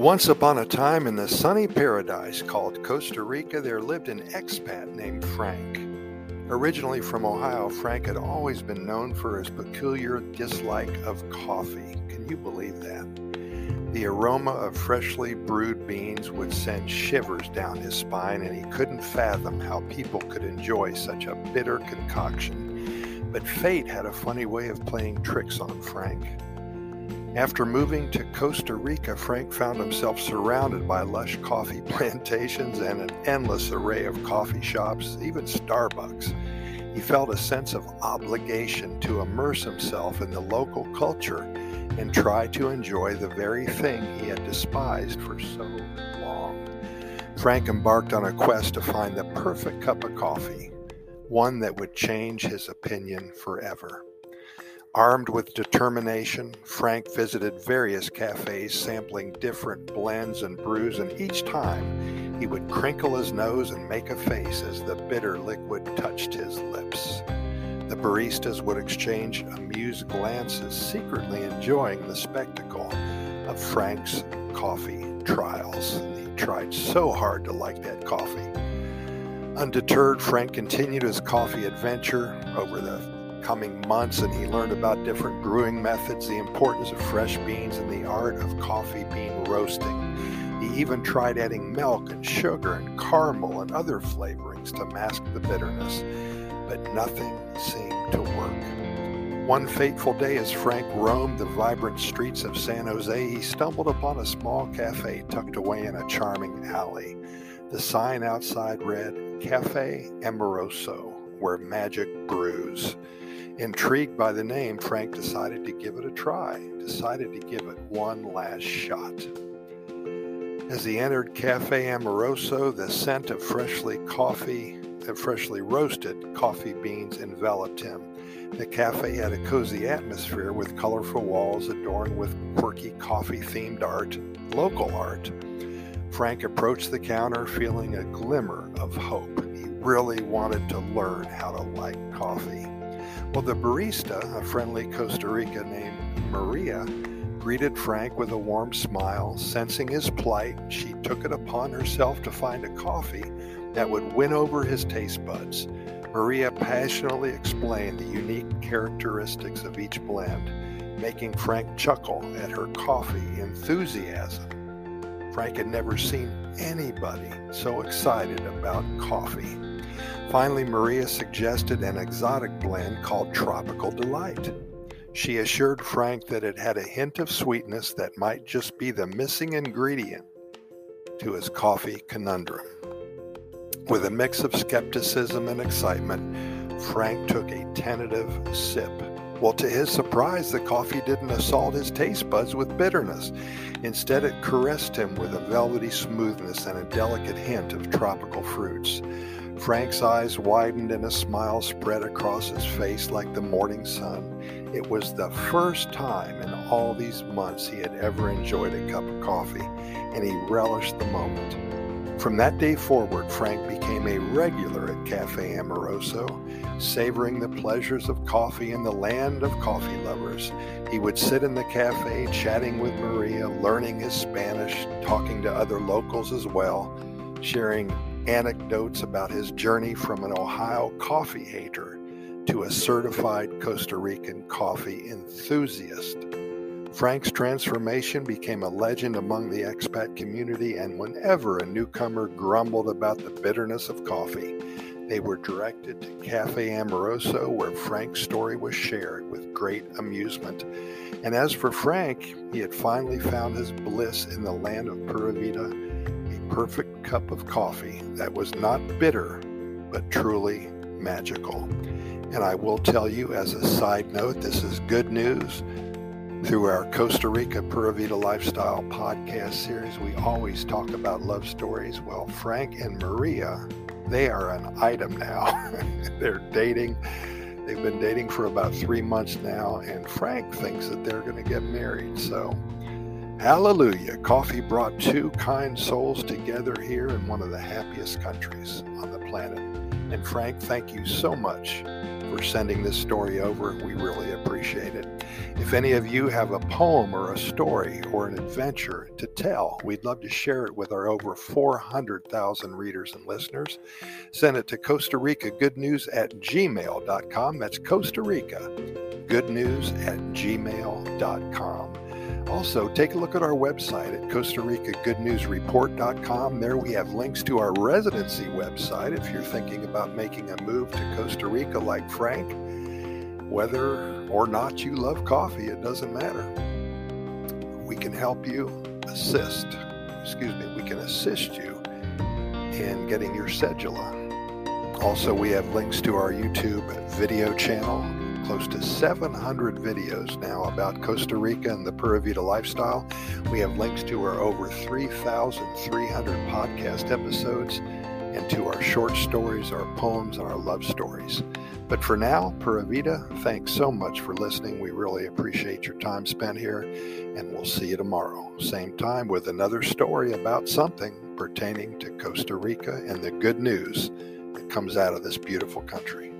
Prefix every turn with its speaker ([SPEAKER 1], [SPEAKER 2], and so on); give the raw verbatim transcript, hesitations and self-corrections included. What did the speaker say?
[SPEAKER 1] Once upon a time in the sunny paradise called Costa Rica, there lived an expat named Frank. Originally from Ohio, Frank had always been known for his peculiar dislike of coffee. Can you believe that? The aroma of freshly brewed beans would send shivers down his spine, and he couldn't fathom how people could enjoy such a bitter concoction. But fate had a funny way of playing tricks on Frank. After moving to Costa Rica, Frank found himself surrounded by lush coffee plantations and an endless array of coffee shops, even Starbucks. He felt a sense of obligation to immerse himself in the local culture and try to enjoy the very thing he had despised for so long. Frank embarked on a quest to find the perfect cup of coffee, one that would change his opinion forever. Armed with determination, Frank visited various cafes sampling different blends and brews, and each time he would crinkle his nose and make a face as the bitter liquid touched his lips. The baristas would exchange amused glances, secretly enjoying the spectacle of Frank's coffee trials. He tried so hard to like that coffee. Undeterred, Frank continued his coffee adventure over the coming months, and he learned about different brewing methods, the importance of fresh beans, and the art of coffee bean roasting. He even tried adding milk and sugar and caramel and other flavorings to mask the bitterness, but nothing seemed to work. One fateful day, as Frank roamed the vibrant streets of San Jose, he stumbled upon a small cafe tucked away in a charming alley. The sign outside read, "Cafe Amoroso, where magic brews." Intrigued by the name, Frank decided to give it a try, decided to give it one last shot. As he entered Cafe Amoroso, the scent of freshly coffee, of freshly roasted coffee beans enveloped him. The cafe had a cozy atmosphere with colorful walls adorned with quirky coffee-themed art, local art. Frank approached the counter feeling a glimmer of hope. He really wanted to learn how to like coffee. Well, the barista, a friendly Costa Rican named Maria, greeted Frank with a warm smile. Sensing his plight, she took it upon herself to find a coffee that would win over his taste buds. Maria passionately explained the unique characteristics of each blend, making Frank chuckle at her coffee enthusiasm. Frank had never seen anybody so excited about coffee. Finally, Maria suggested an exotic blend called Tropical Delight. She assured Frank that it had a hint of sweetness that might just be the missing ingredient to his coffee conundrum. With a mix of skepticism and excitement, Frank took a tentative sip. Well, to his surprise, the coffee didn't assault his taste buds with bitterness. Instead, it caressed him with a velvety smoothness and a delicate hint of tropical fruits. Frank's eyes widened and a smile spread across his face like the morning sun. It was the first time in all these months he had ever enjoyed a cup of coffee, and he relished the moment. From that day forward, Frank became a regular at Cafe Amoroso, savoring the pleasures of coffee in the land of coffee lovers. He would sit in the cafe chatting with Maria, learning his Spanish, talking to other locals as well, sharing anecdotes about his journey from an Ohio coffee hater to a certified Costa Rican coffee enthusiast. Frank's transformation became a legend among the expat community, and whenever a newcomer grumbled about the bitterness of coffee, they were directed to Cafe Amoroso, where Frank's story was shared with great amusement. And as for Frank, he had finally found his bliss in the land of Pura Vida, a perfect cup of coffee that was not bitter, but truly magical. And I will tell you, as a side note, this is good news. Through our Costa Rica Pura Vida Lifestyle podcast series, we always talk about love stories. Well, Frank and Maria, they are an item now. They're dating. They've been dating for about three months now, and Frank thinks that they're going to get married. So, hallelujah. Coffee brought two kind souls together here in one of the happiest countries on the planet. And Frank, thank you so much for sending this story over. We really appreciate it. If any of you have a poem or a story or an adventure to tell, we'd love to share it with our over four hundred thousand readers and listeners. Send it to Costa Rica Good News at gmail dot com. That's Costa Rica Good News at gmail dot com. Also, take a look at our website at Costa Rica Good News Report dot com. There we have links to our residency website if you're thinking about making a move to Costa Rica like Frank. Whether or not you love coffee, it doesn't matter. We can help you assist, excuse me, we can assist you in getting your cedula. Also, we have links to our YouTube video channel, close to seven hundred videos now about Costa Rica and the Pura Vida lifestyle. We have links to our over three thousand three hundred podcast episodes and to our short stories, our poems, and our love stories. But for now, Pura Vida, thanks so much for listening. We really appreciate your time spent here, and we'll see you tomorrow, same time, with another story about something pertaining to Costa Rica and the good news that comes out of this beautiful country.